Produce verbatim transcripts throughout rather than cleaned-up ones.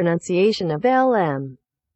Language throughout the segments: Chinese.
pronunciation of L M.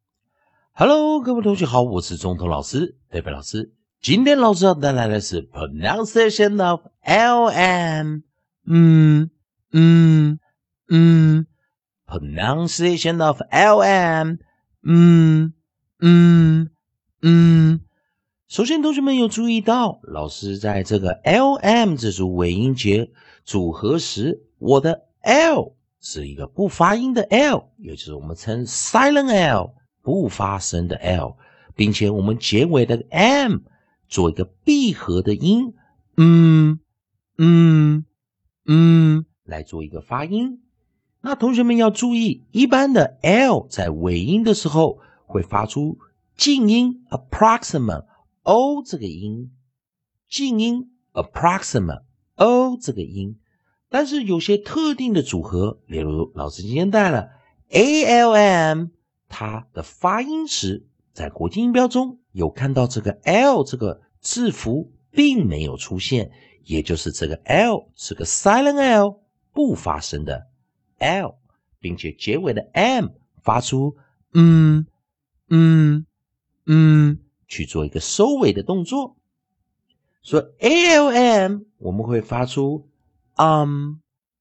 Hello， 各位同学好，我是中通老师，贝贝老师。今天老师要带来的是 pronunciation of L M。嗯嗯嗯 ，pronunciation of L M。嗯嗯嗯。首先，同学们有注意到，老师在这个 L M 这组尾音节组合时，我的 L 是一个不发音的 L， 也就是我们称 silent L， 不发声的 L， 并且我们结尾的 M 做一个闭合的音，嗯嗯嗯，来做一个发音。那同学们要注意，一般的 L 在尾音的时候会发出静音 approximate。O 这个音，静音 approximate O 这个音，但是有些特定的组合，例如老师今天带了 A L M， 它的发音时在国际音标中有看到这个 L 这个字符并没有出现，也就是这个 L 是个 silent L， 不发声的 L， 并且结尾的 M 发出嗯嗯嗯去做一个收尾的动作。所以 A L M 我们会发出 um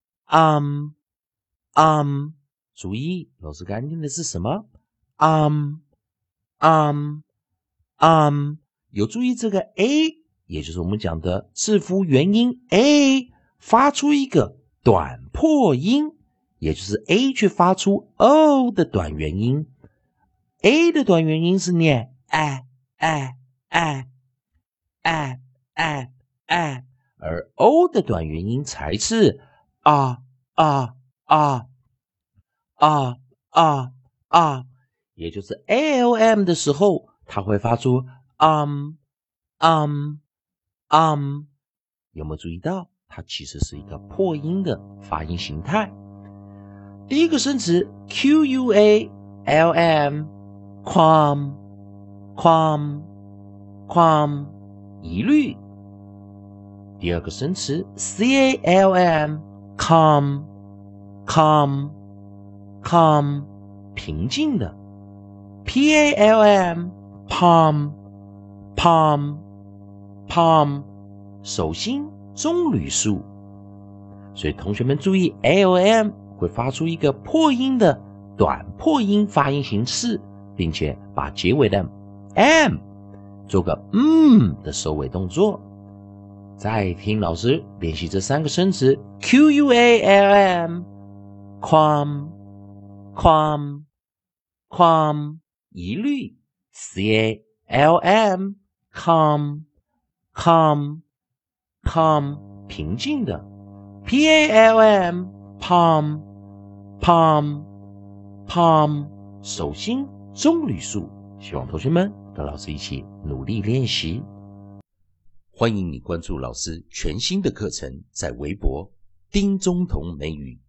um um， 注意老师刚念的是什么 um um um， 有注意这个 A， 也就是我们讲的字符元音 A 发出一个短破音，也就是 A 去发出 O 的短元音。 A 的短元音是念哎哎哎哎哎哎，而 O 的短元音才是啊啊啊啊啊啊，也就是 A L M 的时候，它会发出 um um um， 有没有注意到？它其实是一个破音的发音形态。第一个生词 Q U A L M。Quam, quam, quam， 疑虑。第二个生词 C A L M, calm, calm, calm， 平静的。P A L M, palm, palm, palm， 手心棕榈树。所以同学们注意 A L M 会发出一个破音的短破音发音形式，并且把结尾的 M 做个嗯的收尾动作。再听老师练习这三个生词 Q U A L M Quam Quam Quam 疑虑 C A L M Calm Calm Calm 平静的 P A L M Palm Palm Palm 手心棕榈树。希望同学们跟老师一起努力练习。欢迎你关注老师全新的课程，在微博丁中同美语